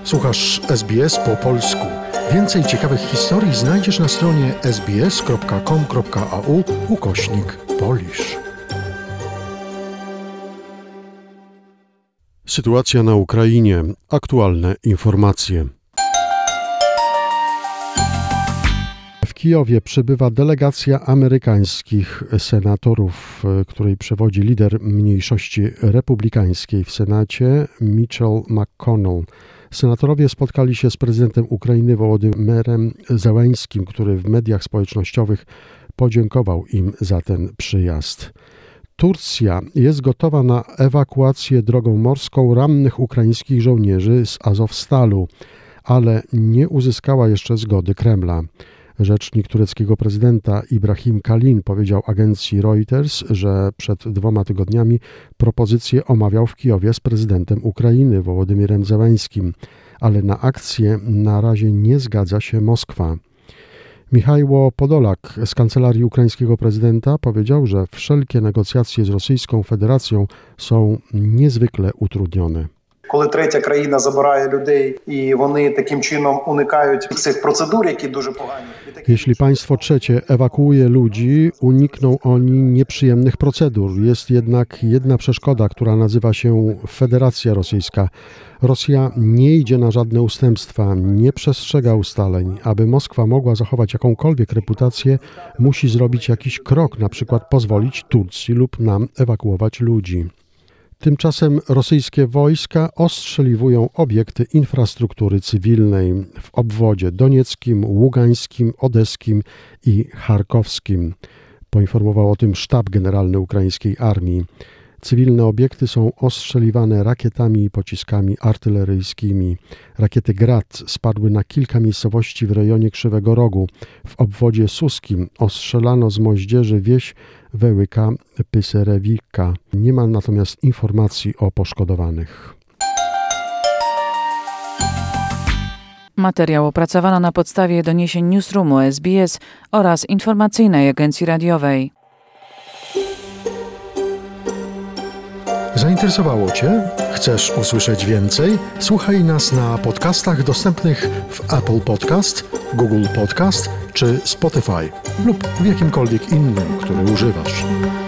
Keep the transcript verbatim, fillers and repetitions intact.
Słuchasz S B S po polsku. Więcej ciekawych historii znajdziesz na stronie sbs.com.au ukośnik Polish. Sytuacja na Ukrainie. Aktualne informacje. W Kijowie przybywa delegacja amerykańskich senatorów, której przewodzi lider mniejszości republikańskiej w Senacie Mitchell McConnell. Senatorowie spotkali się z prezydentem Ukrainy Wołodymyrem Zełeńskim, który w mediach społecznościowych podziękował im za ten przyjazd. Turcja jest gotowa na ewakuację drogą morską rannych ukraińskich żołnierzy z Azowstalu, ale nie uzyskała jeszcze zgody Kremla. Rzecznik tureckiego prezydenta Ibrahim Kalin powiedział agencji Reuters, że przed dwoma tygodniami propozycję omawiał w Kijowie z prezydentem Ukrainy Wołodymyrem Zełeńskim, ale na akcję na razie nie zgadza się Moskwa. Michajło Podolak z kancelarii ukraińskiego prezydenta powiedział, że wszelkie negocjacje z Rosyjską Federacją są niezwykle utrudnione. Коли третя країна забирає людей і вони таким чином уникають цих процедур, які дуже погані. Jeśli państwo trzecie ewakuuje ludzi, unikną oni nieprzyjemnych procedur. Jest jednak jedna przeszkoda, która nazywa się Federacja Rosyjska. Rosja nie idzie na żadne ustępstwa, nie przestrzega ustaleń. Aby Moskwa mogła zachować jakąkolwiek reputację, musi zrobić jakiś krok, na przykład pozwolić Turcji lub nam ewakuować ludzi. Tymczasem rosyjskie wojska ostrzeliwują obiekty infrastruktury cywilnej w obwodzie donieckim, ługańskim, odeskim i charkowskim. Poinformował o tym sztab generalny ukraińskiej armii. Cywilne obiekty są ostrzeliwane rakietami i pociskami artyleryjskimi. Rakiety Grad spadły na kilka miejscowości w rejonie Krzywego Rogu. W obwodzie suskim ostrzelano z moździerzy wieś Wełyka Pyserewika. Nie ma natomiast informacji o poszkodowanych. Materiał opracowano na podstawie doniesień Newsroomu S B S oraz informacyjnej agencji radiowej. Zainteresowało Cię? Chcesz usłyszeć więcej? Słuchaj nas na podcastach dostępnych w Apple Podcast, Google Podcast czy Spotify lub w jakimkolwiek innym, który używasz.